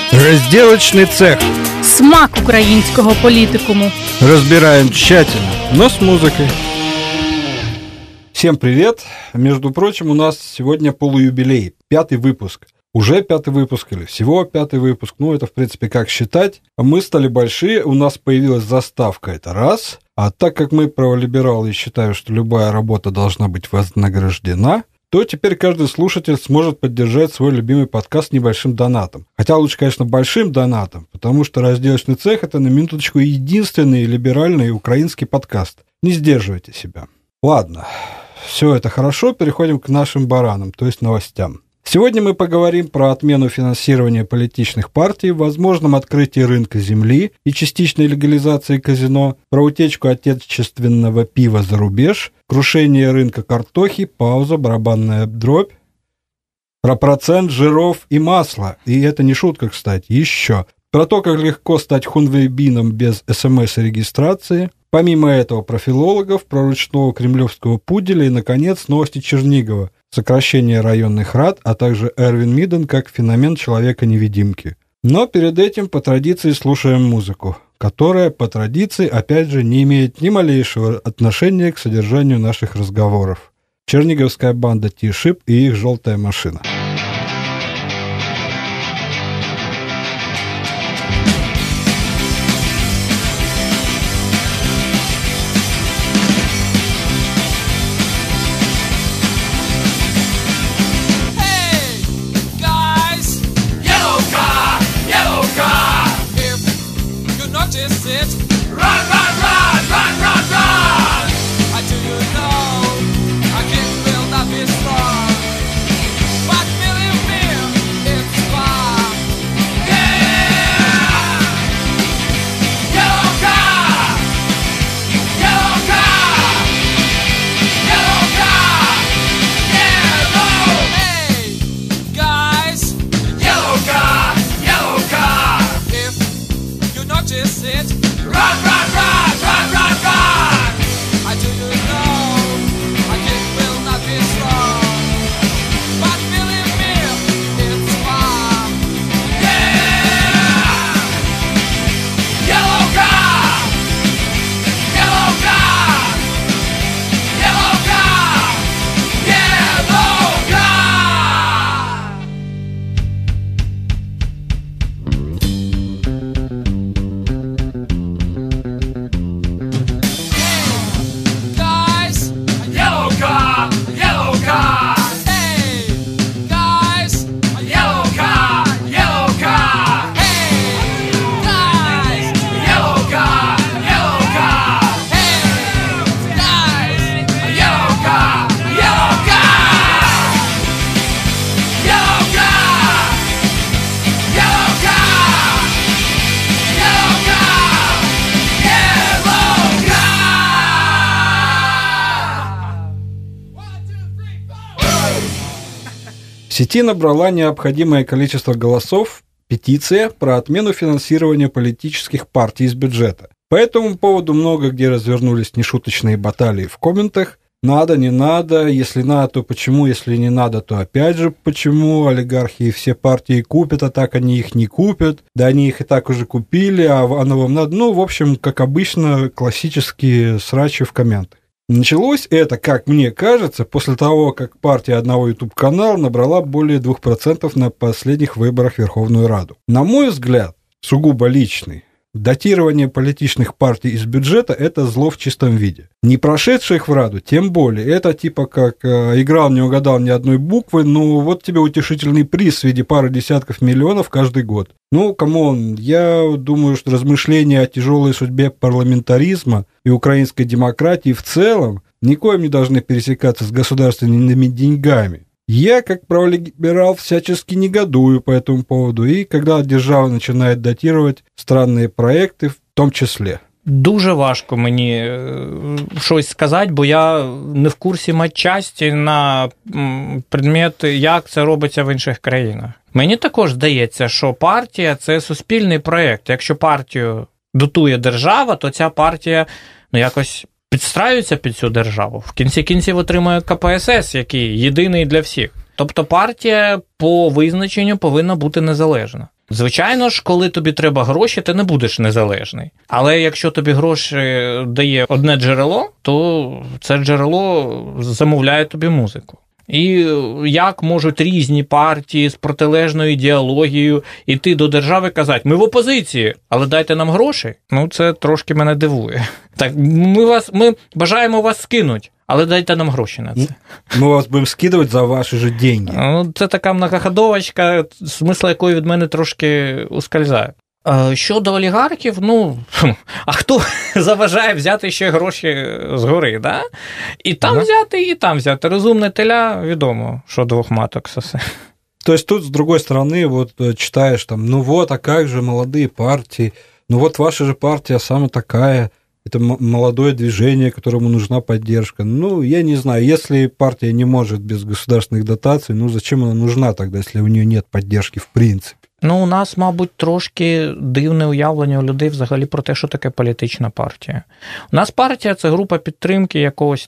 Разделочный цех. Смак українського політикуму. Разбираем тщательно, но с музыкой. Всем привет! Между прочим, у нас сегодня полуюбилей, 5-й выпуск. Уже 5-й выпуск или всего 5-й выпуск, это в принципе как считать. Мы стали большие, у нас появилась заставка, это раз. А так как мы праволибералы и считаем, что любая работа должна быть вознаграждена, то теперь каждый слушатель сможет поддержать свой любимый подкаст небольшим донатом. Хотя лучше, конечно, большим донатом, потому что «Разделочный цех» — это на минуточку единственный либеральный украинский подкаст. Не сдерживайте себя. Ладно, все это хорошо, переходим к нашим баранам, то есть новостям. Сегодня мы поговорим про отмену финансирования политических партий, возможном открытии рынка земли и частичной легализации казино, про утечку отечественного пива за рубеж, крушение рынка картохи, пауза, барабанная дробь, про процент жиров и масла, и это не шутка, кстати, еще, про то, как легко стать хунвейбином без СМС и регистрации, помимо этого про филологов, про ручного кремлевского пуделя и, наконец, новости Чернигова, сокращение районных рад, а также Эрвин Миден как феномен человека-невидимки. Но перед этим по традиции слушаем музыку, которая по традиции, опять же, не имеет ни малейшего отношения к содержанию наших разговоров. Черниговская банда Ти-Шип и их «Желтая машина». В сети набрала необходимое количество голосов петиция про отмену финансирования политических партий из бюджета. По этому поводу много где развернулись нешуточные баталии в комментах. Надо, не надо, если надо, то почему, если не надо, то опять же почему, олигархи все партии купят, а так они их не купят, да они их и так уже купили, а оно вам надо, в общем, как обычно, классические срачи в комментах. Началось это, как мне кажется, после того, как партия одного YouTube-канала набрала более 2% на последних выборах в Верховную Раду. На мой взгляд, сугубо личный, датирование политических партий из бюджета – это зло в чистом виде. Не прошедших в Раду, тем более. Это типа как играл, не угадал ни одной буквы, вот тебе утешительный приз в виде пары десятков миллионов каждый год. Камон, я думаю, что размышления о тяжелой судьбе парламентаризма и украинской демократии в целом никоим не должны пересекаться с государственными деньгами. Я, как праволиберал, всячески негодую по этому поводу, и когда держава начинает датировать странные проекти, в тому числі. Дуже важко мені щось сказати, бо я не в курсі матчасті на предмет, як це робиться в інших країнах. Мені також здається, що партія – це суспільний проєкт. Якщо партію дотує держава, то ця партія якось підстраюється під цю державу. В кінці кінців отримує КПСС, який єдиний для всіх. Тобто партія по визначенню повинна бути незалежна. Звичайно ж, коли тобі треба гроші, ти не будеш незалежний. Але якщо тобі гроші дає одне джерело, то це джерело замовляє тобі музику. І як можуть різні партії з протилежною ідеологією йти до держави і казати, ми в опозиції, але дайте нам гроші? Ну, це трошки мене дивує. Так, ми бажаємо вас скинути, але дайте нам гроші на це. Ми вас будемо скидувати за ваші ж деньги. Ну, це така многоходовочка, смисл якої від мене трошки ускользає. Щодо олігархів, а хто заважає взяти ще гроші згори, да? І там взяти, і там взяти. Розумне теля, відомо, що двох маток сосе. То есть тут, с другой стороны, вот читаешь там, а как же молодые партии, ваша же партия самая такая, это молодое движение, которому нужна поддержка. Я не знаю, если партия не может без государственных дотаций, зачем она нужна тогда, если у нее нет поддержки в принципе? У нас, мабуть, трошки дивне уявлення у людей взагалі про те, що таке політична партія. У нас партія – це група підтримки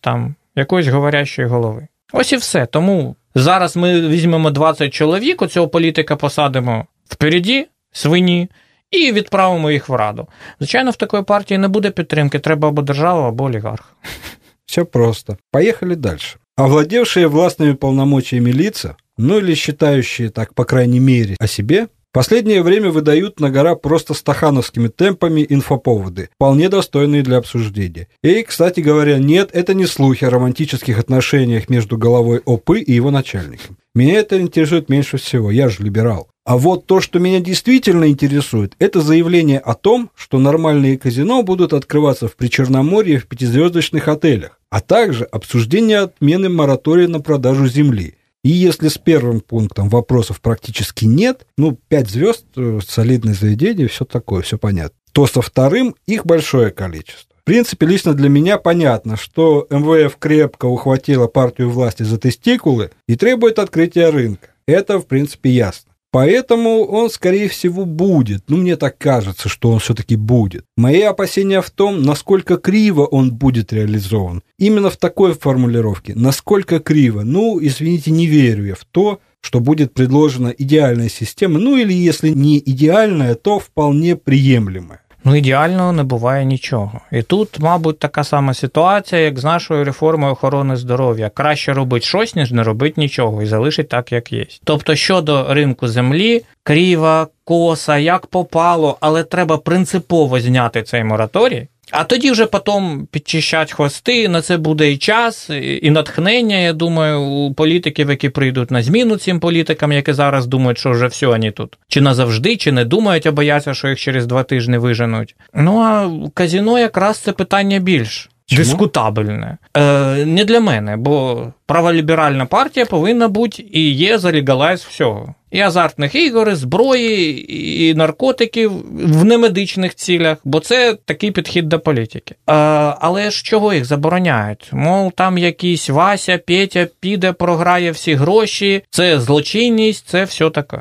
якоїсь говорящої голови. Ось і все. Тому зараз ми візьмемо 20 чоловік, оцього політика посадимо впереді, свині, і відправимо їх в Раду. Звичайно, в такої партії не буде підтримки, треба або держава, або олігарх. Все просто. Поехали дальше. Овладевшие властными полномочиями лица, или считающие так, по крайней мере, о себе, в последнее время выдают на гора просто стахановскими темпами инфоповоды, вполне достойные для обсуждения. И, кстати говоря, нет, это не слухи о романтических отношениях между главой ОП и его начальником. Меня это интересует меньше всего, я же либерал. А вот то, что меня действительно интересует, это заявление о том, что нормальные казино будут открываться в Причерноморье в 5-звездочных отелях, а также обсуждение отмены моратория на продажу земли. И если с первым пунктом вопросов практически нет, 5 звезд, солидное заведение, все такое, все понятно, то со вторым их большое количество. В принципе, лично для меня понятно, что МВФ крепко ухватила партию власти за тестикулы и требует открытия рынка. Это, в принципе, ясно. Поэтому он, скорее всего, будет. Мне так кажется, что он все-таки будет. Мои опасения в том, насколько криво он будет реализован. Именно в такой формулировке. Насколько криво. Извините, не верю я в то, что будет предложена идеальная система. Или если не идеальная, то вполне приемлемая. Ідеального не буває нічого. І тут, мабуть, така сама ситуація, як з нашою реформою охорони здоров'я. Краще робити щось, ніж не робити нічого, і залишити так, як є. Тобто, щодо ринку землі, крива, коса, як попало, але треба принципово зняти цей мораторій, а тоді вже потім підчищать хвости, на це буде і час, і натхнення, я думаю, у політиків, які прийдуть на зміну цим політикам, які зараз думають, що вже все, вони тут. Чи назавжди, чи не думають, а бояться, що їх через 2 тижні виженуть. А казино якраз це питання більш дискутабельне. Не для мене, бо праволіберальна партія повинна бути і є за легалайз всього. І азартних ігор, і зброї, і наркотиків в немедичних цілях, бо це такий підхід до політики. Але ж чого їх забороняють? Мов, там якийсь Вася, Петя піде, програє всі гроші, це злочинність, це все таке.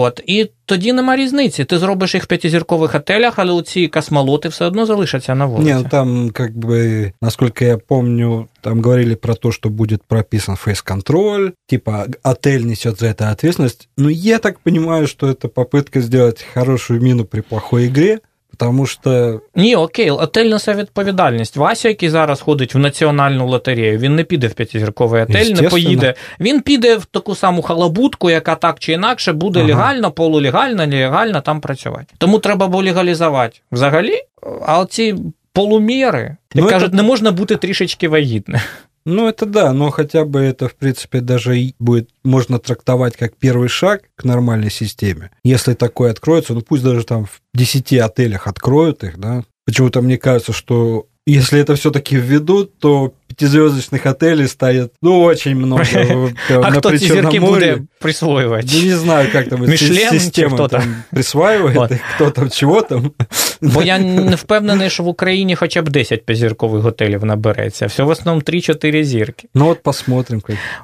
І тоді нема різниці. Ти зробиш їх в 5-зіркових готелях, але оці космолоти все одно залишаться на вулиці. Там, насколько я помню, там говорили про то, что будет прописан фейс-контроль, типа отель несет за это ответственность. Я так понимаю, что это попытка сделать хорошую мину при плохой игре, тому що... Ні, окей, отель несе відповідальність. Вася, який зараз ходить в національну лотерею, він не піде в 5-зірковий отель, не поїде. Він піде в таку саму халабутку, яка так чи інакше буде легально, полулегально, нелегально там працювати. Тому треба було легалізувати взагалі, а оці полуміри, як кажуть, не можна бути трішечки вагітним. Это да, но хотя бы это, в принципе, даже будет, можно трактовать как первый шаг к нормальной системе. Если такое откроется, пусть даже там в 10 отелях откроют их, да. Почему-то мне кажется, что если это все-таки введут, то 5-звездочных отелей станет, очень много. А кто эти зірки буде присвоювати? Не знаю, как там система присваивает, кто там, чего там. Бо я не впевнений, що в Україні хоча б 10 5-зіркових готелів набереться. Все в основному 3-4 зірки. Посмотрим.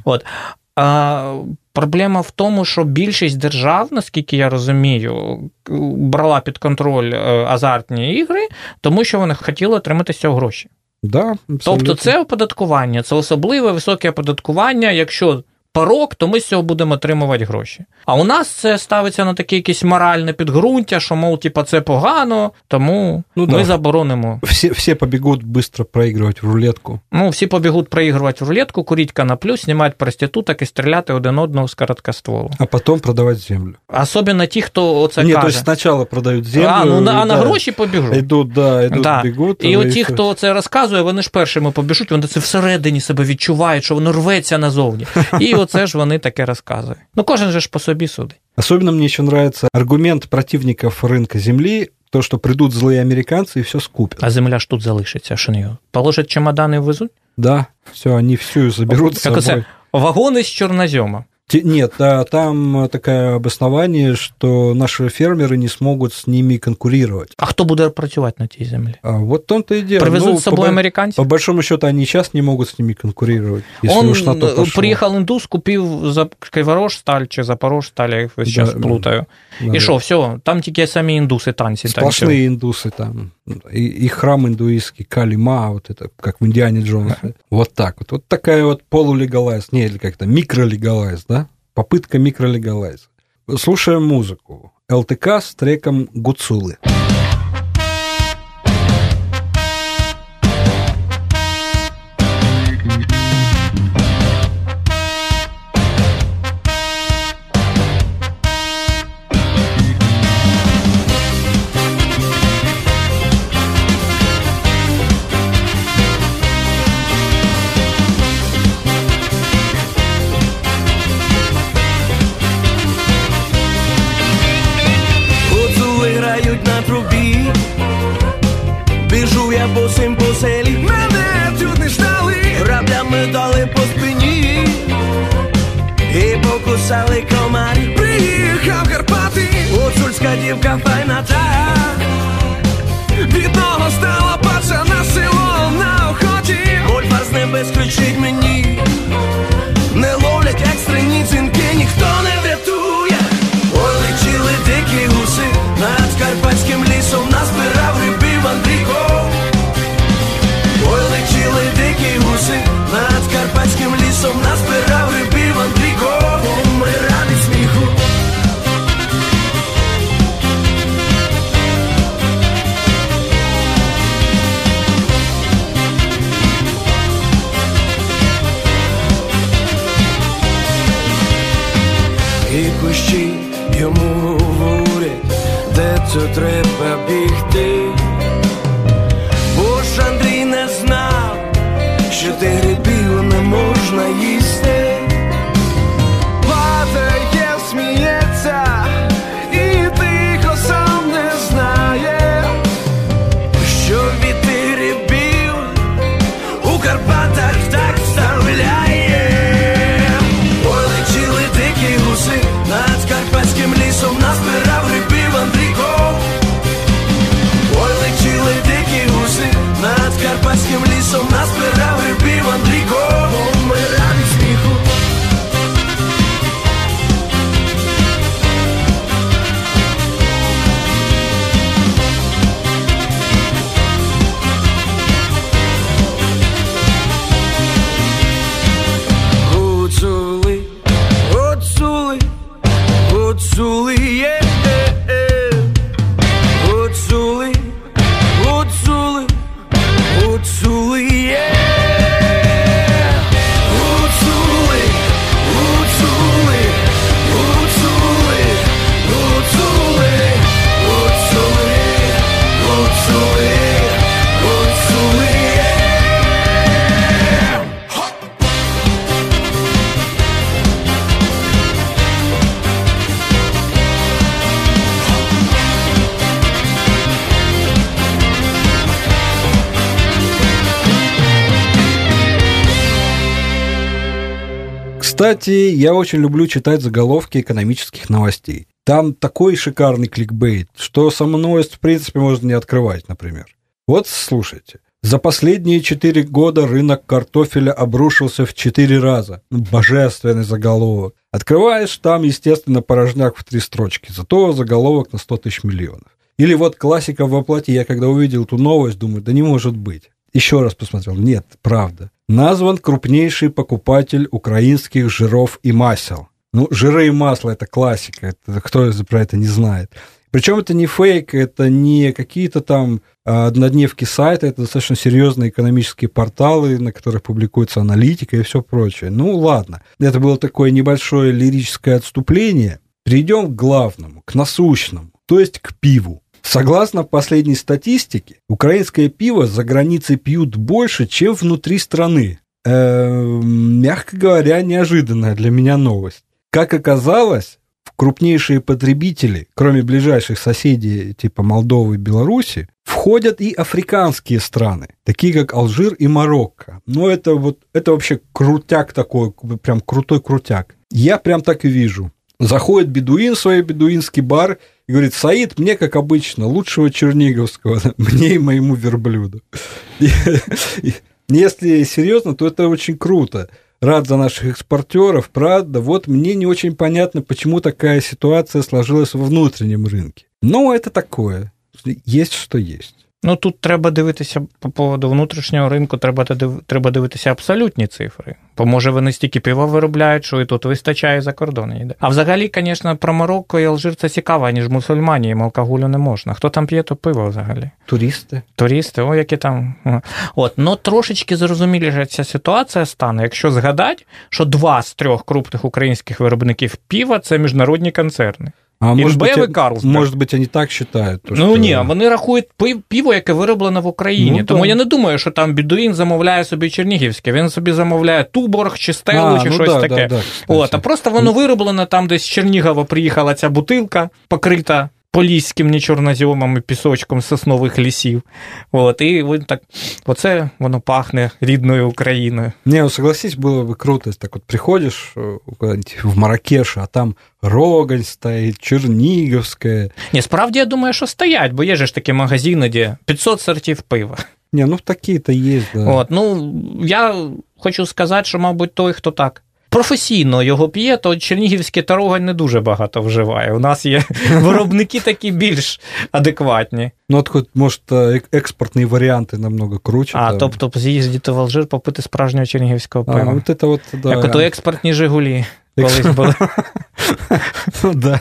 Проблема в тому, що більшість держав, наскільки я розумію, брала під контроль азартні ігри, тому що вони хотіли отримати з цього гроші. Да, тобто це оподаткування, це особливе високе оподаткування, якщо порог, то ми з цього будемо отримувати гроші. А у нас це ставиться на таке якесь моральне підґрунтя, що, мов, типа, це погано, тому ми заборонимо. Всі побігуть швидко проігрувати в рулетку. Всі побігуть проігрувати в рулетку, курити коноплю, знімати проституток і стріляти один одного з короткостволу. А потім продавати землю. Особливо ті, хто оце каже. Ні, тобто спочатку продають землю. А на гроші побіжуть. Йдуть, бігуть. І оті, хто це розказує, вони ж першими побіжуть, вони це всередині себе відчувають, що воно рветься назовні. І оце ж вони таке розказують. Кожен же ж по собі судить. Особенно мне еще нравится аргумент противников рынка земли, то, что придут злые американцы и все скупят. А земля ж тут залишиться, що не положать чемодани і везуть? Да, все, они всю заберут с собой. Це вагони з чорнозема. Нет, там такое обоснование, что наши фермеры не смогут с ними конкурировать. А кто будет працювать на этой земле? Вот в том-то и дело. Привезут с собой американцев? По большому счету, они сейчас не могут с ними конкурировать, если уж на то пошло. Приехал индус, купил Криворожсталь чи Запорожсталь, я сейчас плутаю. Да, и что, все, там тільки самі індуси танці. Сплошные индусы там. И храм индуистский, Кали-Ма, вот это, как в Индиане Джонсе. Вот так вот. Вот такая вот полулегалайз, не, или как-то микролегалайз, да? Попытка микролегалайза. Слушаем музыку. ЛТК с треком «Гуцулы». Босим по селі, мене тут не ждали, граблями дали по спині і покусали комарі. Приїхав Карпати, гуцульська дівка файна та, бідного стала пацана село на охоті. Гольфа з небес кричить мені, не ловлять екстрені дзвінки, ніхто не врятує. Ой, летіли дикі гуси, над карпатським лісом назбирав грибів Андрійко. Ой, летіли дикі гуси, над карпатським лісом назбирав грибів Андрійко. Помирав від сміху. І кущі йому говорять, де це треба бігти. Бо ж Андрій не знав, що ти грибів не можна їсти. Падає, сміється, і тихо сам не знає, що від тих грибів у Карпатах так вставляє. Ой, летіли дикі гуси, над карпатським лісом назбирав грибів Андрійко. Ой, летіли дикі гуси, над карпатським лісом назбирав грибів Андрійко. Помирав від сміху. Гуцули, гуцули, гуцули, є. Гуцули, гуцули, гуцули, є. Гуцули, гуцули, гуцули, гуцули, гуцули, гуцули, гуцули, є. Кстати, я очень люблю читать заголовки экономических новостей. Там такой шикарный кликбейт, что сам новость, в принципе, можно не открывать, например. Вот слушайте. За последние 4 года рынок картофеля обрушился в 4 раза. Божественный заголовок. Открываешь, там, естественно, порожняк в 3 строчки. Зато заголовок на 100 тысяч миллионов. Или вот классика воплоти. Я когда увидел эту новость, думаю, да не может быть. Еще раз посмотрел. Нет, правда. назван крупнейший покупатель украинских жиров и масел. Ну, жиры и масло – это классика, это, кто про это не знает. Причем это не фейк, это не какие-то там однодневки сайта, это достаточно серьезные экономические порталы, на которых публикуется аналитика и все прочее. Ну, ладно, это было такое небольшое лирическое отступление. Перейдем к главному, к насущному, то есть к пиву. Согласно последней статистике, украинское пиво за границей пьют больше, чем внутри страны. Мягко говоря, неожиданная для меня новость. Как оказалось, крупнейшие потребители, кроме ближайших соседей типа Молдовы и Беларуси, входят и африканские страны, такие как Алжир и Марокко. Но это вообще крутяк такой, прям крутой крутяк. Я прям так и вижу. Заходит бедуин в свой бедуинский бар и говорит: Саид, мне, как обычно, лучшего черниговского, мне и моему верблюду. Если серьезно, то это очень круто. Рад за наших экспортеров, правда. Вот мне не очень понятно, почему такая ситуация сложилась во внутреннем рынке. Но это такое. Есть, що є. Ну, тут треба дивитися, по поводу внутрішнього ринку, треба дивитися абсолютні цифри. Бо, може, вони стільки пива виробляють, що і тут вистачає, за кордон йде. А взагалі, звісно, про Марокко і Алжир це цікаво, ніж мусульмані, їм алкоголю не можна. Хто там п'є, то пиво взагалі? Туристи, о, які там. От, ну, трошечки зрозуміліше ця ситуація стане, якщо згадати, що 2 з 3 крупних українських виробників пива – це міжнародні концерни. А может быть, они так считают? Ну, ні, вони рахують пиво, яке вироблено в Україні. Ну, тому я не думаю, що там бедуїн замовляє собі чернігівське. Він собі замовляє Туборг, чи Стеллу, чи щось таке. От, а просто воно вироблено там, десь з Чернігова приїхала ця бутилка, покрита поліським нечорноземом і пісочком соснових лісів. От, і так, оце воно пахне рідною Україною. Не, согласись, было бы круто, если так вот приходишь куда-нибудь в Марракеш, а там Рогань стоит, Черниговская. Ні, справді, я думаю, що стоять, бо є ж такі магазини, де 500 сортів пива. Не, ну такі-то є, да. От, ну, я хочу сказати, що, мабуть, той, хто так професійно його п'є, то чернігівське та Рогань не дуже багато вживає. У нас є виробники такі більш адекватні. Ну, от хоч, може, експортні варіанти намного круче. А, там. Тобто з'їздити в Алжир, попити справжнього чернігівського пива. А, от це от, да. Як ото експортні «Жигулі» колись були. Ну, да.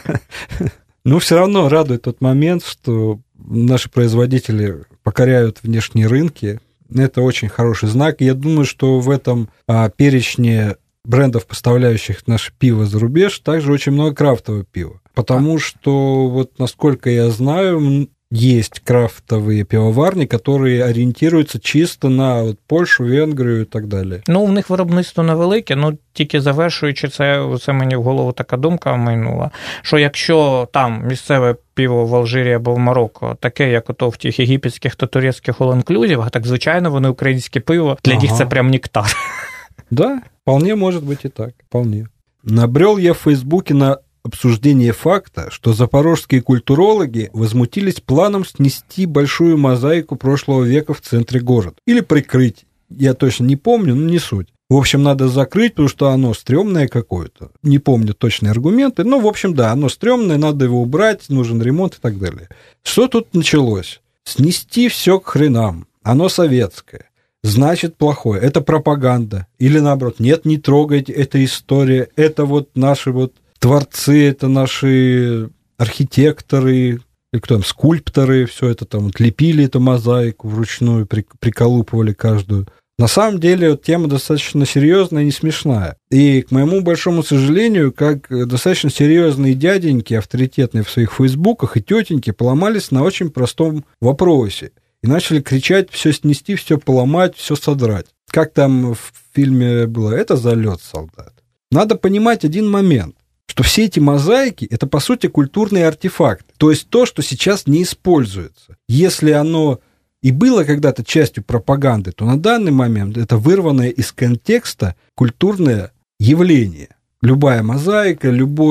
Ну, все равно радует тот момент, что наши производители покоряют внешние рынки. Это очень хороший знак. Я думаю, что в этом перечне брендов, поставляющих наше пиво за рубеж, также очень много крафтового пива. Потому что, вот насколько я знаю, есть крафтовые пивоварни, которые ориентируются чисто на от Польщу, Венгрію і так далі. Ну, в них виробництво невелике, ну, тільки завершуючи це мені в голову така думка майнула, що якщо там місцеве пиво в Алжирі або в Марокко таке, як ото в тих єгипетських та турецьких all-inclusive, так, звичайно, вони українське пиво, для них це прям нектар. Да, вполне может быть и так, вполне. Набрел я в Фейсбуке на обсуждение факта, что запорожские культурологи возмутились планом снести большую мозаику прошлого века в центре города. Или прикрыть, я точно не помню, но не суть. В общем, надо закрыть, потому что оно стрёмное какое-то. Не помню точные аргументы, но, в общем, да, оно стрёмное, надо его убрать, нужен ремонт и так далее. Что тут началось? Снести все к хренам, оно советское. Значит, плохое. Это пропаганда. Или наоборот, нет, не трогайте, это история, это вот наши вот творцы, это наши архитекторы, или кто там, скульпторы, все это там вот лепили эту мозаику вручную, приколупывали каждую. На самом деле, вот, тема достаточно серьезная и не смешная. И, к моему большому сожалению, как достаточно серьезные дяденьки, авторитетные в своих фейсбуках, и тетеньки поломались на очень простом вопросе. И начали кричать: все снести, все поломать, все содрать. Как там в фильме было: это залет, солдат. Надо понимать один момент, что все эти мозаики – это, по сути, культурный артефакт. То есть то, что сейчас не используется. Если оно и было когда-то частью пропаганды, то на данный момент это вырванное из контекста культурное явление. Любая мозаика,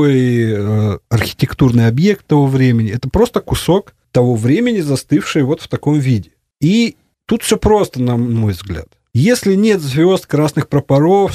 любой архитектурный объект того времени – это просто кусок того времени, застывший вот в таком виде. И тут все просто, на мой взгляд. Если нет звезд, красных прапоров,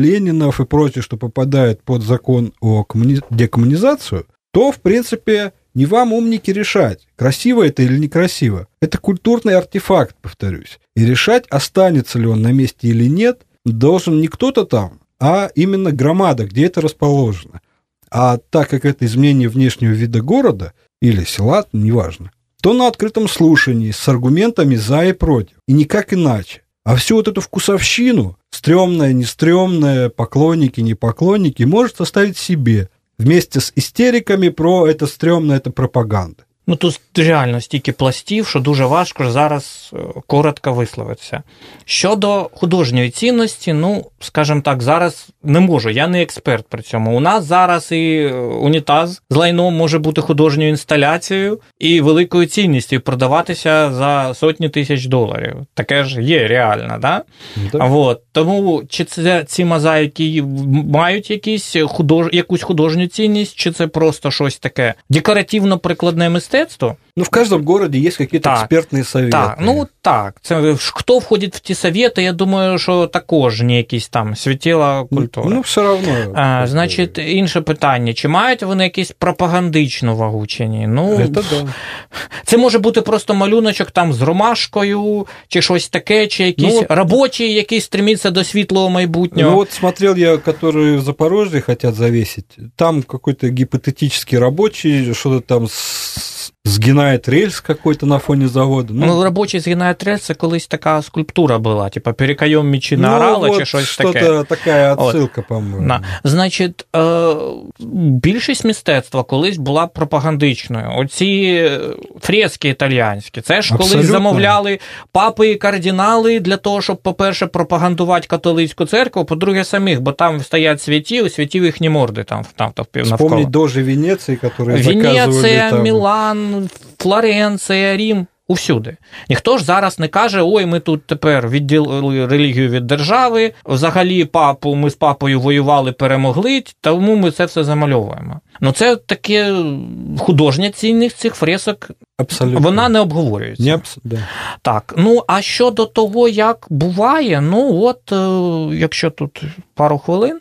Сталина-Ленинов и прочее, что попадает под закон о декоммунизацию, то, в принципе, Не вам, умники, решать, красиво это или некрасиво. Это культурный артефакт, повторюсь. И решать, останется ли он на месте или нет, должен не кто-то там, а именно громада, где это расположено. А так как это изменение внешнего вида города или села, неважно, то на открытом слушании с аргументами за и против. И никак иначе. А всю вот эту вкусовщину, стрёмное, не стрёмное, поклонники, не поклонники, может оставить себе вместе з істериками про це стрьомне, це пропаганда. Ну, тут реально стільки пластів, що дуже важко зараз коротко висловитися. Щодо художньої цінності, ну, скажімо так, зараз не можу, я не експерт при цьому. У нас зараз і унітаз з лайном може бути художньою інсталяцією і великою цінністю, і продаватися за сотні тисяч доларів. Таке ж є реально, да? Вот. Тому чи це ці мозаїки мають якусь художню цінність, чи це просто щось таке декоративно-прикладне мистецтво? Ну, в каждом городе есть какие-то экспертные советы. Так, ну так. Це, хто входить в ті совєти, я думаю, що також не якісь там світила культури. Ну, все одно. Значить, інше питання. Чи мають вони якусь пропагандичну вагу, чи ні? Ну, да. Це може бути просто малюночок там з ромашкою, чи щось таке, чи якісь робочі, які стремляться до світлого майбутнього. Ну, вот смотрел я, которые в Запорожье хотят завесить. Там какой-то гипотетический рабочий, что-то там згинает рельс какой-то на фоне завода. Ну, робочий згинает рельс, це колись така скульптура була, типа перекайом мечі на орала, чи щось таке. Що-то така відсилка, по-моєму. Значить, більшість мистецтва колись була пропагандичною. Оці фрески італіянські, це ж колись замовляли папи і кардинали для того, щоб, по-перше, пропагандувати католицьку церкву, по-друге, самих, бо там стоять святі, у святів їхні морди там навколо. Вспомнить дожі Венеції, які заказували Венеція, там. Мілан, Флоренція, Рім, усюди. Ніхто ж зараз не каже, ой, ми тут тепер відділили релігію від держави, взагалі ми з папою воювали, перемогли, тому ми це все замальовуємо. Ну це таке художня цінність цих фресок, абсолютно. Вона не обговорюється. Да. Так, ну а щодо того, як буває, ну от, якщо тут пару хвилин,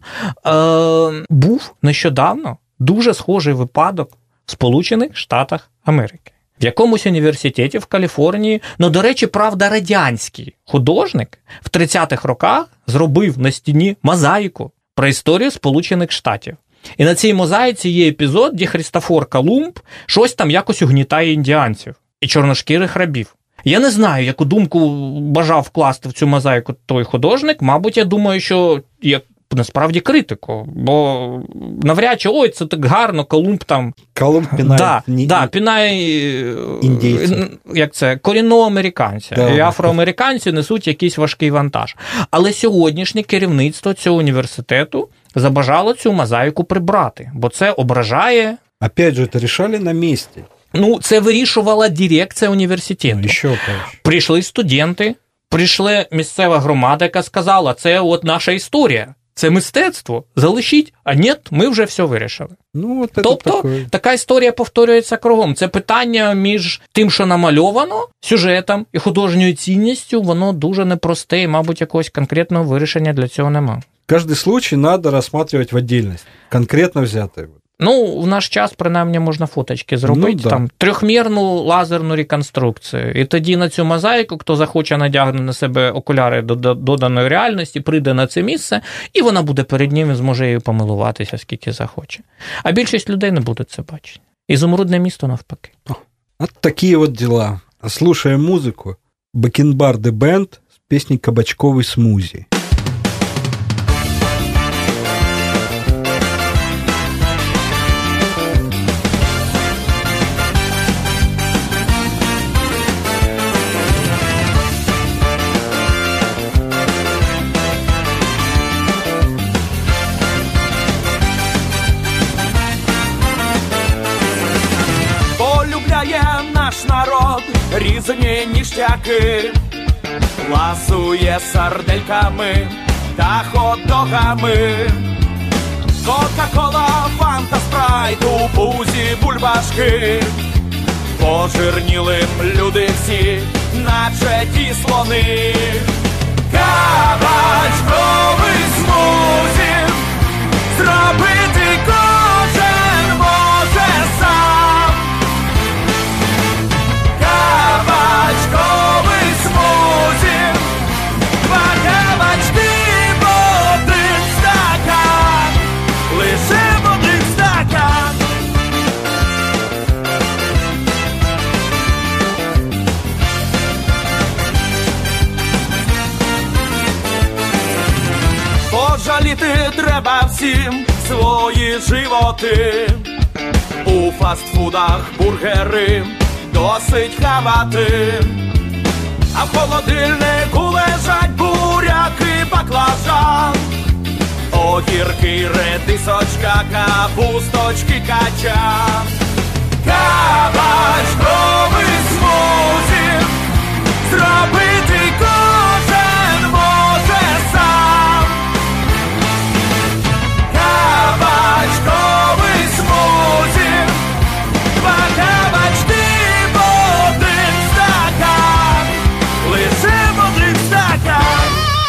був нещодавно дуже схожий випадок в Сполучених Штатах Америки. В якомусь університеті в Каліфорнії, ну, до речі, правда, радянський художник в 30-х роках зробив на стіні мозаїку про історію Сполучених Штатів. І на цій мозаїці є епізод, де Христофор Колумб щось там якось угнітає індіанців і чорношкірих рабів. Я не знаю, яку думку бажав вкласти в цю мозаїку той художник. Мабуть, я думаю, що насправді критику, бо навряд чи, ой, це так гарно, Колумб там... Колумб пінає... пінає... індійців. Як це? Корінного американця. Да. І афроамериканці несуть якийсь важкий вантаж. Але сьогоднішнє керівництво цього університету забажало цю мозаїку прибрати, бо це ображає... Опять же, це рішали на місці. Ну, це вирішувала дирекція університету. Ну, ще прийшли студенти, прийшла місцева громада, яка сказала, це от наша історія. Це мистецтво, залишіть, а ні, ми вже все вирішили. Ну, тобто, така історія повторюється кругом. Це питання між тим, що намальовано, сюжетом і художньою цінністю, воно дуже непросте, і, мабуть, якогось конкретного вирішення для цього нема. Кожний случай треба розглядати в окремості, конкретно взяти. Ну, в наш час, принаймні, можна фоточки зробити, ну, да. Там, трьохмірну лазерну реконструкцію. І тоді на цю мозаїку, хто захоче, надягне на себе окуляри доданої реальності, прийде на це місце, і вона буде перед ним і зможе її помилуватися, скільки захоче. А більшість людей не будуть це бачити. Ізумрудне місто навпаки. От такі от діла. Слушаємо музику. Бакенбарды Бенд з піснею «Кабачковий смузі». Народ різні ніштяки, ласує сардельками та хот-догами. Кока-кола, фанта, спрайт, у пузі бульбашки. Пожирніли люди всі, наче ті слони. Кабачковий смузі зробити кожен може сам. треба всім свої животи. У фастфудах бургери досить хавати, а в холодильнику лежать буряки, баклажан, огірки, редисочка, капусточки, качан. Кабачковий смузі зробити кожен може сам. Кабачковий смузі, 2 кабачки в 1 стакан, лише в 1 стакан.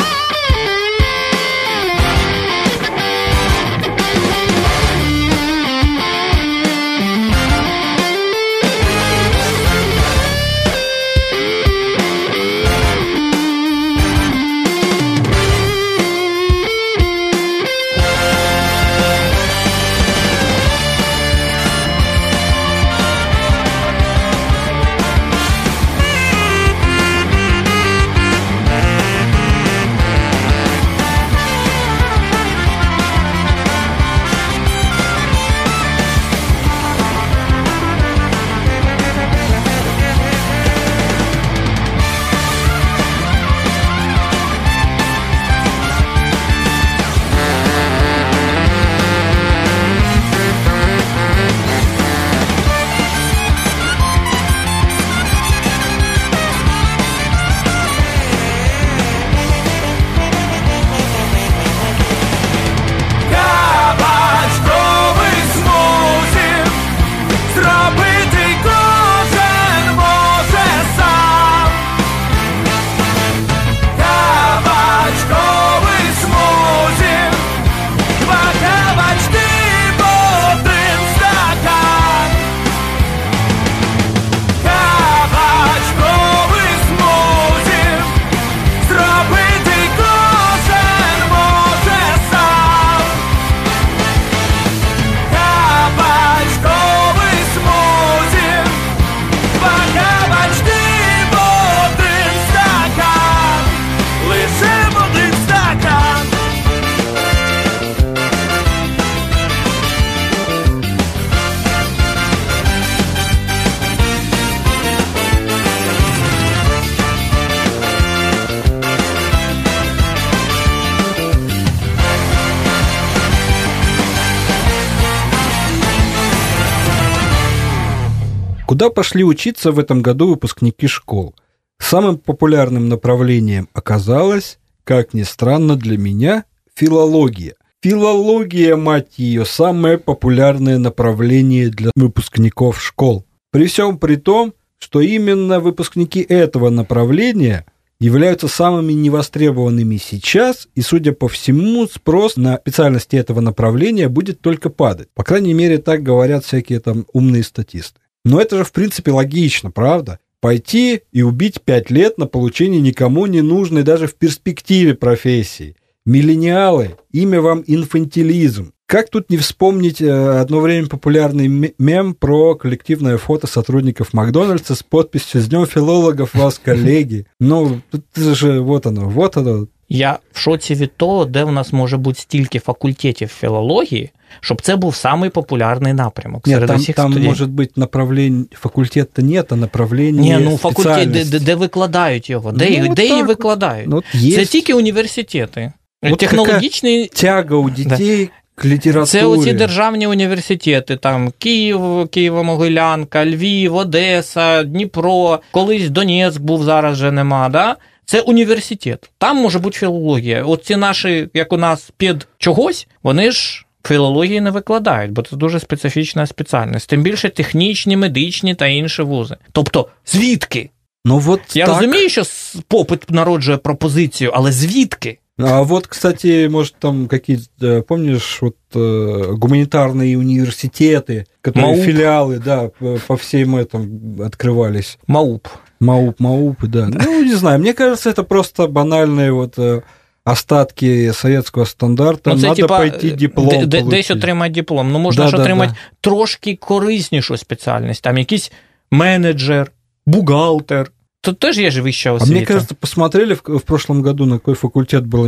Куда пошли учиться в этом году выпускники школ? Самым популярным направлением оказалось, как ни странно для меня, филология. Филология, мать ее, самое популярное направление для выпускников школ. При всем при том, что именно выпускники этого направления являются самыми невостребованными сейчас, и, судя по всему, спрос на специальности этого направления будет только падать. По крайней мере, так говорят всякие там умные статисты. Но это же, в принципе, логично, правда? Пойти и убить 5 лет на получение никому не нужной даже в перспективе профессии. Миллениалы, имя вам инфантилизм. Как тут не вспомнить одно время популярный мем про коллективное фото сотрудников Макдональдса с подписью «С днем филологов вас, коллеги». Ну, это же вот оно. Я в шоці від того, де в нас може бути стільки факультетів філології, щоб це був самий популярний напрямок серед усіх там студентів. може бути направлення, факультета нет, а направлення факультет, де викладають його, де її викладають. Це тільки університети. Технологічний... Тяга у дітей к літературі. Це оці державні університети, там Київ, Києво-Могилянка, Львів, Одеса, Дніпро, колись Донецьк був, зараз вже нема, да? Це університет. Там може бути філологія. От ці наші, як у нас, під чогось, вони ж філології не викладають, бо це дуже специфічна спеціальність. Тим більше технічні, медичні та інші вузи. Тобто, звідки? Я розумію, що попит народжує пропозицію, але звідки? А вот, кстати, может, там какие-то, помнишь, вот гуманитарные университеты, которые МАУП. филиалы, да, по всем этом открывались. МАУП, да. Ну, не знаю, мне кажется, это просто банальные вот остатки советского стандарта. Це, надо пойти диплом получить. Десь отримати диплом. Ну, можна ж отримати трошки кориснішу спеціальність. Там якийсь менеджер, бухгалтер, тут теж є ж вища А освіта. мне кажется, посмотрели в прошлом году, на какой факультет было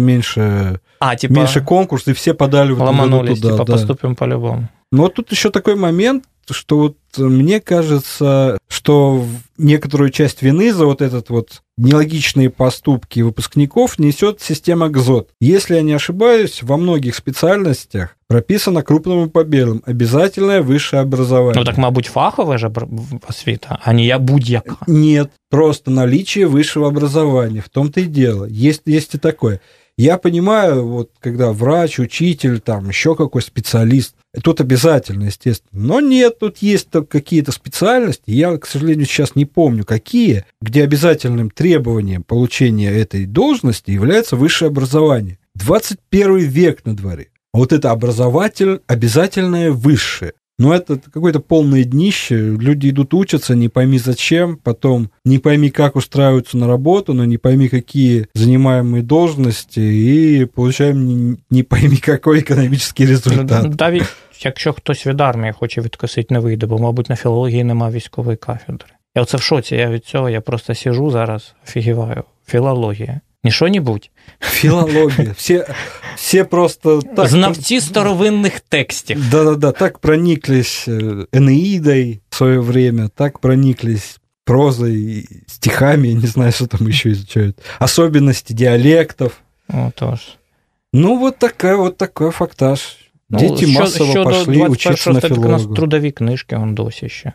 меньше конкурс, и все подали в этом году ломанулись, туда. Да. поступим по-любому. Но вот тут еще такой момент, что вот мне кажется, что некоторую часть вины за вот этот вот нелогичные поступки выпускников несет система ГЗОТ. Если я не ошибаюсь, во многих специальностях прописано крупным по белым обязательное высшее образование. Ну так, мабуть, фахове ж освіта, а не я будь-яка. Нет, просто наличие высшего образования, в том-то и дело. Есть и такое. Я понимаю, вот когда врач, учитель, там еще какой специалист, тут обязательно, естественно. Но нет, тут есть какие-то специальности, я, к сожалению, сейчас не помню, какие, где обязательным требованием получения этой должности является высшее образование. 21 век на дворе. А вот это обязательное высшее. Но это какое-то полное днище. Люди идут учатся, не пойми зачем, потом не пойми, как устраиваются на работу, но не пойми, какие занимаемые должности, и получаем не пойми, какой економічний результат. Навіть якщо хтось від армії хоче відкосити, не вийде, бо, мабуть, на філології нема військової кафедри. Я оце в шоці, я від цього, я просто сижу зараз, офігіваю. Філологія. Не що-небудь. Филология. Все просто так... Знавці старовинних текстів. Да-да-да, так прониклись Энеидой в свое время, так прониклись прозой, стихами, я не знаю, что там еще изучают. Особенности диалектов. Отож. Ну, вот такой фактаж. Дети массово пошли учиться на филолога. У нас трудові книжки, он досі ще.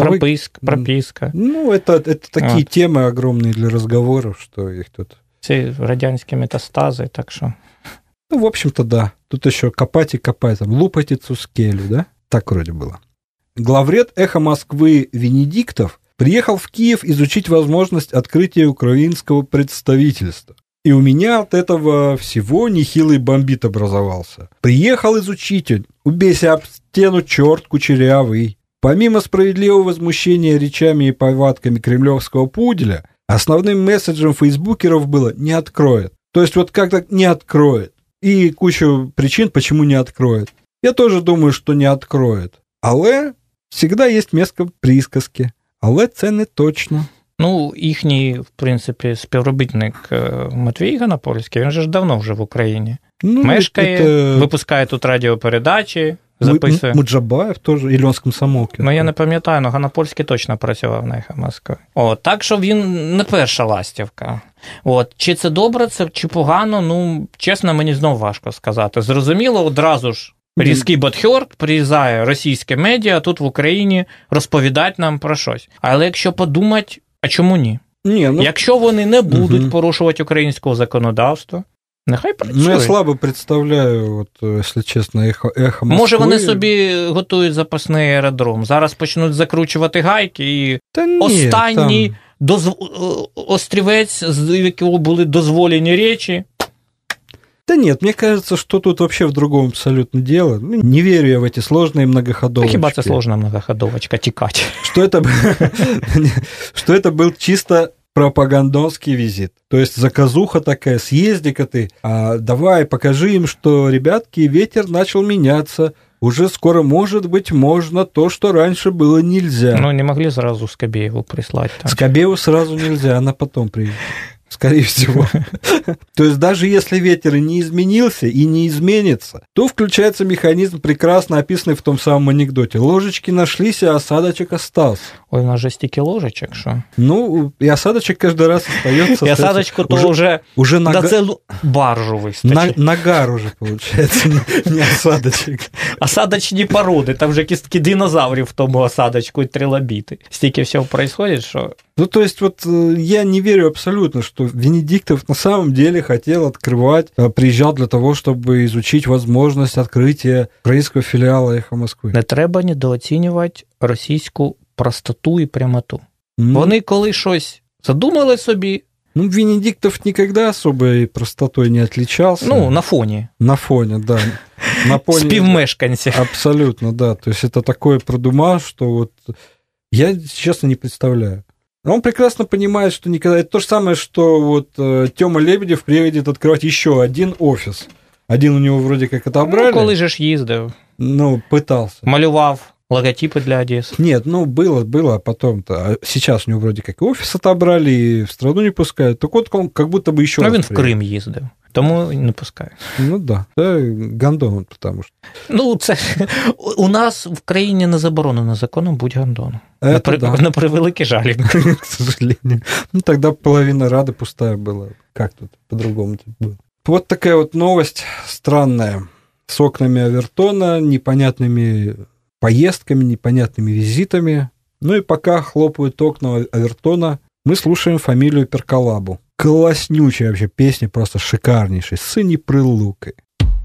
Прописка. Ну, это такие темы огромные для разговоров, что их тут... Ці радянські метастази, так що... Ну, в общем-то, да. Тут еще копать и копать, там, лупать и цускелю, да? Так вроде было. Главред «Эхо Москвы» Венедиктов приехал в Киев изучить возможность открытия украинского представительства. И у меня от этого всего нехилый бомбит образовался. Приехал изучить, убейся об стену, черт кучерявый. Помимо справедливого возмущения речами и повадками кремлевского пуделя, основным месседжем фейсбукеров было «не откроет». То есть вот как-то не откроет. И кучу причин, почему не откроет. Я тоже думаю, что не откроет. Але всегда есть место присказки. Але це не точно. Ну, їхній, в принципі, співробітник Матвій Ганапольський, він же ж давно вже в Україні. Ну, мешкає, випускає тут радіопередачі, записує. Муджабаєв теж, і Льон з комсомолки. Ну, я не пам'ятаю, але Ганапольський точно працював на «Ехо Москви». Так що він не перша ластівка. Чи це добре, чи погано, ну, чесно, мені знову важко сказати. Зрозуміло, одразу ж різкий бадхьорт, приїжджає російське медіа, тут в Україні розповідають нам про щось. Але якщо подумати, а чому ні? Якщо вони не будуть порушувати українського законодавства, нехай працюють. Ну, я слабо представляю, якщо чесно, «Ехо Москви». Може, вони собі готують запасний аеродром. Зараз почнуть закручувати гайки, і останній острівець, з якого були дозволені речі. Да нет, мне кажется, что тут вообще в другом абсолютно дело. Не верю я в эти сложные многоходовочки. Хіба це сложна многоходовочка, тікать. Что это был чисто пропагандонский визит. То есть заказуха такая, съезди-ка ты, давай покажи им, что, ребятки, ветер начал меняться. Уже скоро, может быть, можно то, что раньше было нельзя. Ну, не могли сразу Скобееву прислать. Скобееву сразу нельзя, она потом приедет. Скорее всего. То есть даже если ветер и не изменился, и не изменится, то включается механизм, прекрасно описанный в том самом анекдоте. Ложечки нашлись, а осадочек остался. Ой, у нас же стільки ложечек, що? Ну, и осадочек каждый раз остается. И осадочку то уже на целую баржу вистачить. Нагар уже, получается, не осадочек. Осадочні породи, там вже кістки динозаврів в тому осадочку і трилобіти. Стільки всього происходит, що... Ну, то есть, вот я не верю абсолютно, что Венедиктов на самом деле хотел открывать, приезжал для того, чтобы изучить возможность открытия украинского филиала «Эхо Москвы». Не треба недооцінювати російську простоту і прямоту. Вони коли щось задумали собі... Ну, Венедиктов никогда особой простотой не отличался. Ну, на фоне. На фоне, да. На фоне... Співмешканців. Абсолютно, да. То есть, это такое продумал, что вот... Я, честно, не представляю. Он прекрасно понимает, что никогда... Это то же самое, что вот Тёма Лебедев приедет открывать еще один офис. Один у него вроде как отобрали. Ну, коли же ж їздив. Ну, пытался. Малював логотипы для Одессы. Нет, было, а потом-то. Сейчас у него вроде как и офис отобрали, и в страну не пускают. Так вот, он как будто бы еще раз. Він в Крим їздив, тому не пускають. Ну да, гандон, потому что. Ну, це у нас в країні не заборонено законом будь гандоном. На превеликий жаль. К сожалению. Ну, тогда половина Рады пустая была. Как тут по-другому было? Вот такая вот новость странная. С окнами Авертона, непонятными поездками, непонятными визитами. Ну и пока хлопают окна Авертона, мы слушаем фамилию Перколабу. Класснючая вообще песня, просто шикарнейшая. «Сині прилуки».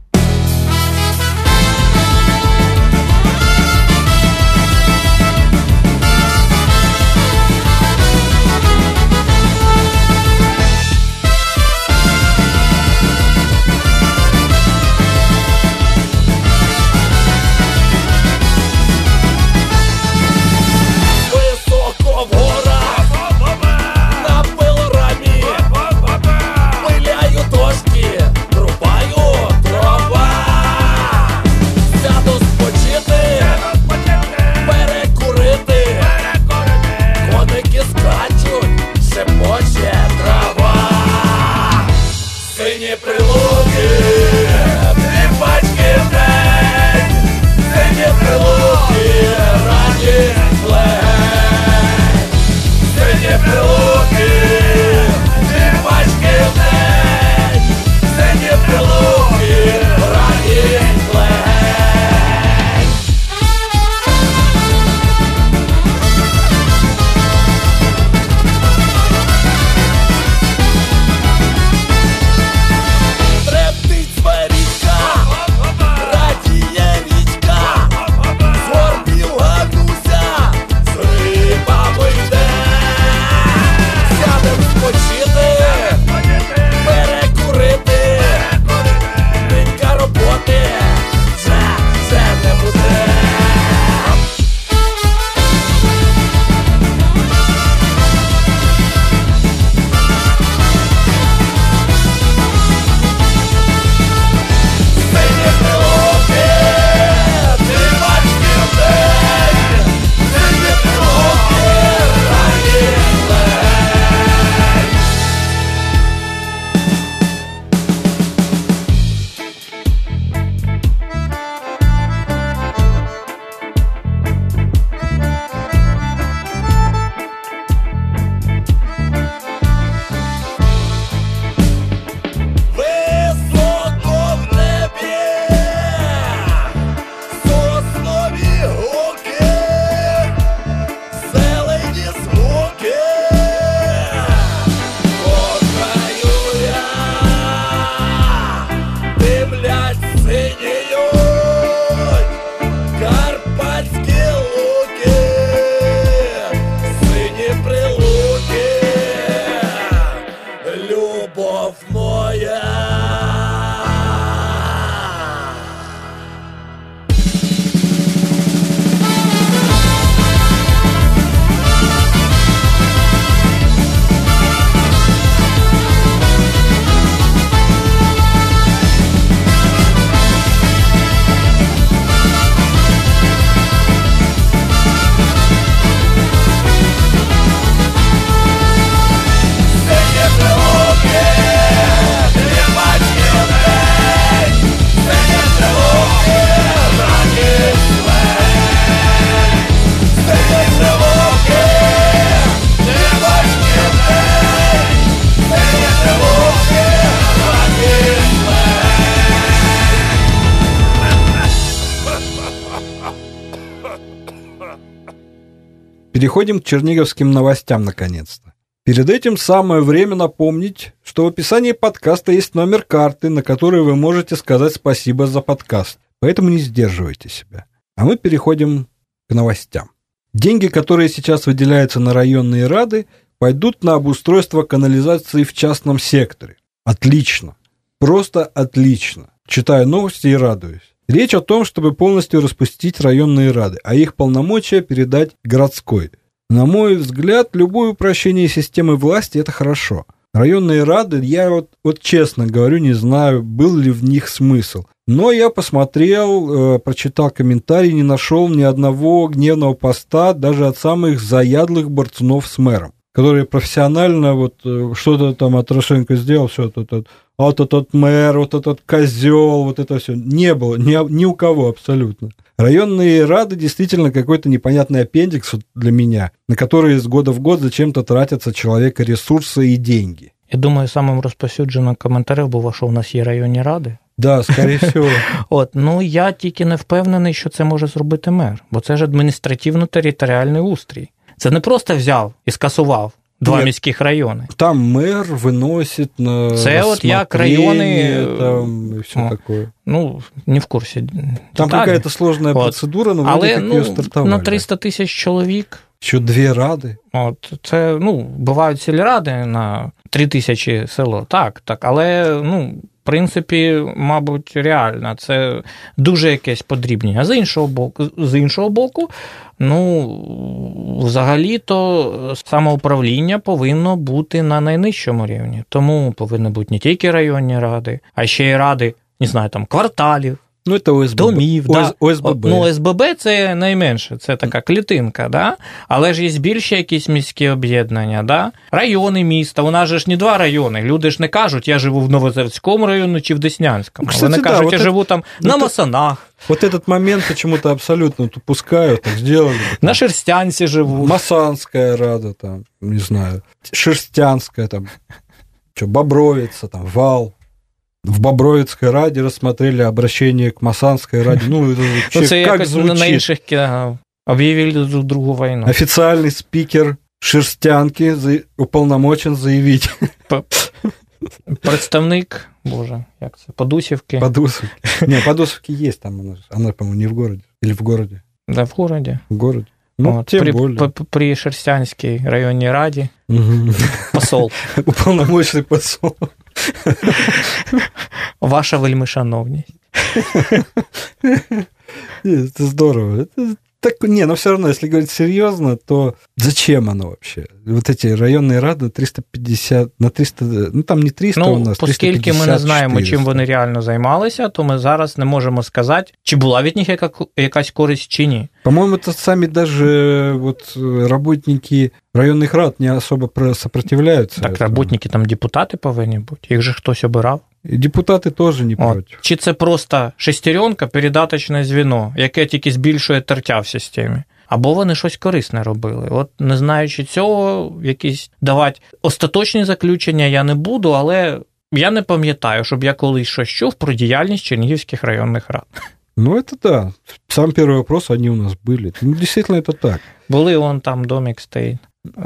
Переходим к черниговским новостям, наконец-то. Перед этим самое время напомнить, что в описании подкаста есть номер карты, на который вы можете сказать спасибо за подкаст. Поэтому не сдерживайте себя. А мы переходим к новостям. Деньги, которые сейчас выделяются на районные рады, пойдут на обустройство канализации в частном секторе. Отлично. Просто отлично. Читаю новости и радуюсь. Речь о том, чтобы полностью распустить районные рады, а их полномочия передать городской. На мой взгляд, любое упрощение системы власти – это хорошо. Районные рады, я вот честно говорю, не знаю, был ли в них смысл. Но я посмотрел, прочитал комментарии, не нашел ни одного гневного поста даже от самых заядлых борцунов с мэром, которые профессионально вот что-то там от Порошенко сделал, все вот этот мэр, вот этот козел, вот это все. Не было ни у кого абсолютно. Районные рады действительно какой-то непонятный аппендикс для меня, на который из года в год зачем-то тратятся человека ресурсы и деньги. Я думаю, самим розповсюдженим коментарем було, що у нас є районні ради. Да, скорее всего. Ну, я тільки не впевнений, що це може зробити мер, бо це ж адміністративно-територіальний устрій. Це не просто взяв і скасував два міських райони. Там мер виносить на це от як райони, там і все таке. Ну, не в курсі. Там якась складна процедура, але вроде як її стартували. На 300 тисяч чоловік. Що 2 ради? От, це, бувають сільради на 3 тисячі село. Так, але, в принципі, мабуть, реально, це дуже якесь подрібнення. А з іншого боку, взагалі-то самоуправління повинно бути на найнижчому рівні. Тому повинні бути не тільки районні ради, а ще й ради, не знаю, там, кварталів, це ОСББ. Домів, ОСББ. ОСББ – це найменше, це така клітинка, да? Але ж є більше якісь міські об'єднання, да? Райони міста, у нас же ж не 2 райони, люди ж не кажуть, я живу в Новозаводському районі чи в Деснянському, кстати, вони кажуть, я живу там на это, Масанах. Вот этот момент почему-то абсолютно упускают, так сделали. На Шерстянці живу. Масанская рада, там, не знаю, Шерстянская, там, Бобровица, там, Вал. В Бобровицкой раді рассмотрели обращение к Масанской раді. Це як звучить? На інших об'явили друг другу війну. Официальный спикер Шерстянки уполномочен заявить. Представник, боже, як це, Подусівки. Не, Подусівки есть там, она, по-моему, не в городе. Или в городе? Да, в городе. В городе. Тем более. При Шерстянській районній раді посол. Уполномоченный посол. Ваша вельмишановність. Это здорово. Но все равно, если говорить серьезно, то зачем оно вообще? Вот эти районные рады 350, на 300, там не 300 у нас, 350, оскільки ми не знаємо, чим вони реально займалися, то ми зараз не можемо сказати, чи була від них якась користь, чи ні. По-моему, это сами даже вот работники районных рад не особо сопротивляются. Так, работники там депутати повинні бути, їх же хтось обирав. І депутати теж не проти. Чи це просто шестеренка, передаточне звіно, яке тільки збільшує тертя в системі? Або вони щось корисне робили. От не знаючи цього, якісь давати остаточні заключення я не буду, але я не пам'ятаю, щоб я колись щось чув про діяльність чернігівських районних рад. Это да. Сам первый вопрос, они у нас были. Действительно, это так. Були там домик стоїть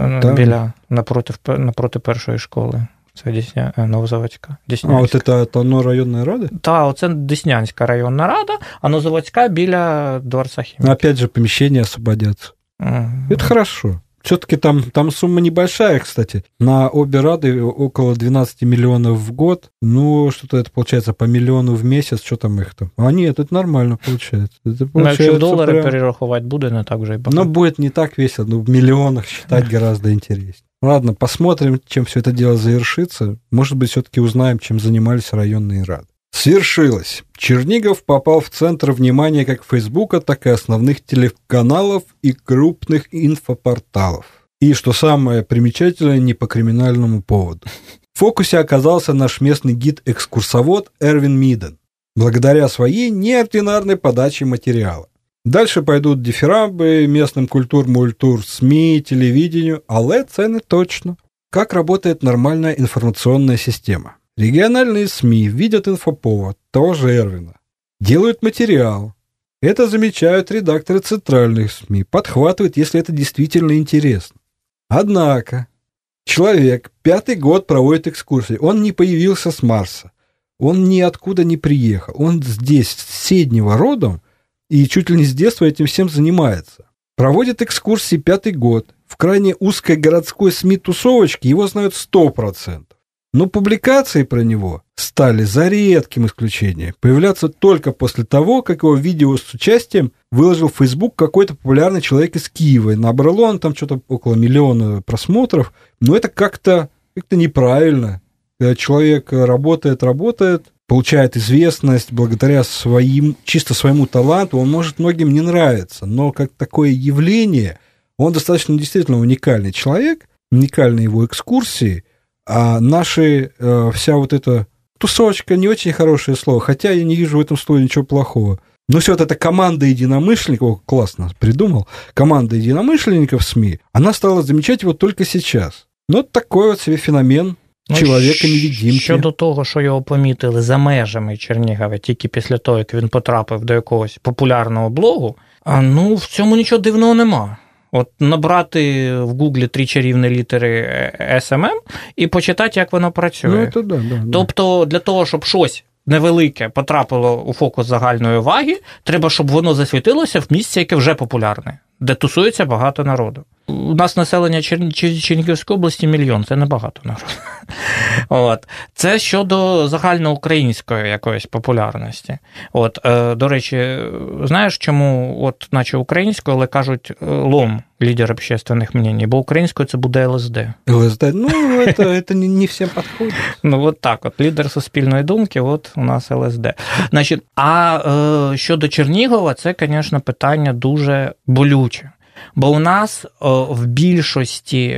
біля, напроти першої школи. Це Новозаводська. Деснянська. А, от це оно районна рада? Так, оце Деснянська районна рада, а Новозаводська біля Дворца Хімії. Опять же, помещения освободятся. Это хорошо. Все-таки там сумма небольшая, кстати. На обе рады около 12 миллионов в год. Что-то это получается по миллиону в месяц. Что там их там? А нет, это нормально получается. Якщо в долари перерахувати буде, не так вже й багато. Будет не так весело, в миллионах считать гораздо интереснее. Ладно, посмотрим, чем все это дело завершится. Может быть, все-таки узнаем, чем занимались районные рады. Свершилось. Чернигов попал в центр внимания как Фейсбука, так и основных телеканалов и крупных инфопорталов. И, что самое примечательное, не по криминальному поводу. В фокусе оказался наш местный гид-экскурсовод Эрвин Миден, благодаря своей неординарной подаче материала. Дальше пойдут дифирамбы местным культур-мультур, СМИ, телевидению, але це не точно. Как работает нормальная информационная система? Региональные СМИ видят инфоповод, того же Эрвина, делают материал. Это замечают редакторы центральных СМИ, подхватывают, если это действительно интересно. Однако человек 5-й год проводит экскурсии, он не появился с Марса, он ниоткуда не приехал, он здесь, с Седнева родом, и чуть ли не с детства этим всем занимается. Проводит экскурсии 5-й год, в крайне узкой городской СМИ-тусовочке его знают 100%. Но публикации про него стали, за редким исключением, появляться только после того, как его видео с участием выложил в Facebook какой-то популярный человек из Киева. Набрало он там что-то около 1 миллиона просмотров, но это как-то неправильно. Когда человек работает, получает известность благодаря чисто своему таланту, он может многим не нравиться, но как такое явление, он достаточно действительно уникальный человек, уникальны его экскурсии, а наши, вся вот эта тусовочка, не очень хорошее слово, хотя я не вижу в этом слове ничего плохого, но все вот эта команда единомышленников, классно придумал, команда единомышленников СМИ, она стала замечать его только сейчас. Ну, такой вот себе феномен чоловіка-невидимки. Щодо того, що його помітили за межами Чернігова тільки після того, як він потрапив до якогось популярного блогу, ну, в цьому нічого дивного нема. От набрати в Гуглі 3 чарівні літери SMM і почитати, як воно працює. Ну, да. Тобто, для того, щоб щось невелике потрапило у фокус загальної уваги, треба, щоб воно засвітилося в місці, яке вже популярне, де тусується багато народу. У нас населення Чернігівської області 1 мільйон, це небагато народу. От. Це щодо загальноукраїнської якоїсь популярності. От, до речі, знаєш, чому от наче українською, але кажуть лом, лідер общественних мнений, бо українською це буде ЛСД. ЛСД, ну, це не всім підходить. Ну, от так, от, лідер суспільної думки, от у нас ЛСД. Значить, а щодо Чернігова, це, звісно, питання дуже болюче. Бо у нас в більшості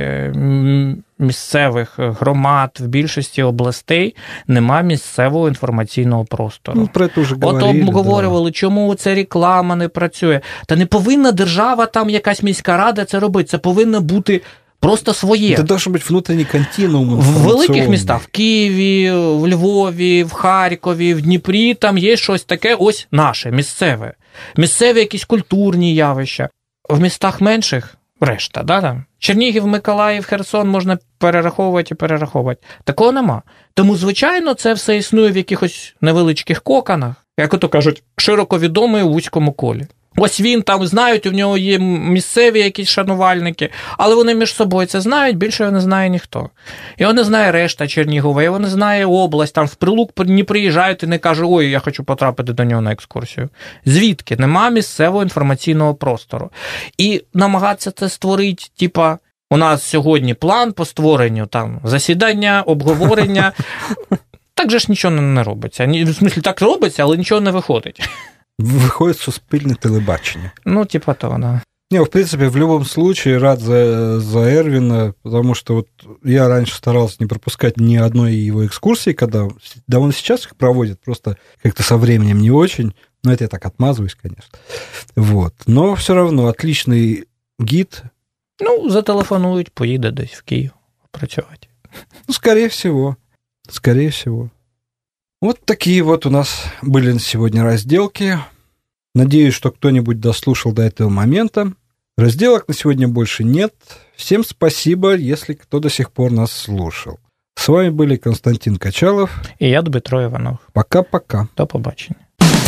місцевих громад, в більшості областей нема місцевого інформаційного простору. Ну, про це вже говорили. От обговорювали, чому ця реклама не працює. Та не повинна держава, там якась міська рада це робити. Це повинно бути просто своє. Це должен бути внутрішній континуум інформаційний. В великих містах, в Києві, в Львові, в Харкові, в Дніпрі, там є щось таке ось наше, місцеве. Місцеві якісь культурні явища. В містах менших решта, да, там. Чернігів, Миколаїв, Херсон можна перераховувати. Такого нема. Тому, звичайно, це все існує в якихось невеличких коканах, як ото кажуть, широко відомий у вузькому колі. Ось він там, знають, у нього є місцеві якісь шанувальники, але вони між собою це знають, більше його не знає ніхто. Його не знає решта Чернігова, його не знає область, там в Прилук не приїжджають і не кажуть, ой, я хочу потрапити до нього на екскурсію. Звідки? Нема місцевого інформаційного простору. І намагатися це створити, типа, у нас сьогодні план по створенню там засідання, обговорення. Так же ж нічого не робиться. В смислі, так робиться, але нічого не виходить. Выходит суспільне телебачення. Ну, типа того, да. Не, в принципе, в любом случае рад за Эрвина, потому что вот я раньше старался не пропускать ни одной его экскурсии, когда, да он сейчас их проводит, просто как-то со временем не очень, но это я так отмазываюсь, конечно. Вот. Но все равно отличный гид. Ну, зателефонують, поїде десь в Київ працювати. Ну, скорее всего. Скорее всего. Вот такие вот у нас были сегодня разделки. Надеюсь, что кто-нибудь дослушал до этого момента. Разделок на сегодня больше нет. Всем спасибо, если кто до сих пор нас слушал. С вами были Константин Качалов. И я, Дмитро Иванов. Пока-пока. До побачення.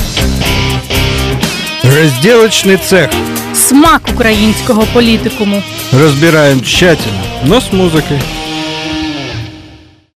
Разделочный цех. Смак українського політикуму. Разбираем тщательно, но с музыкой.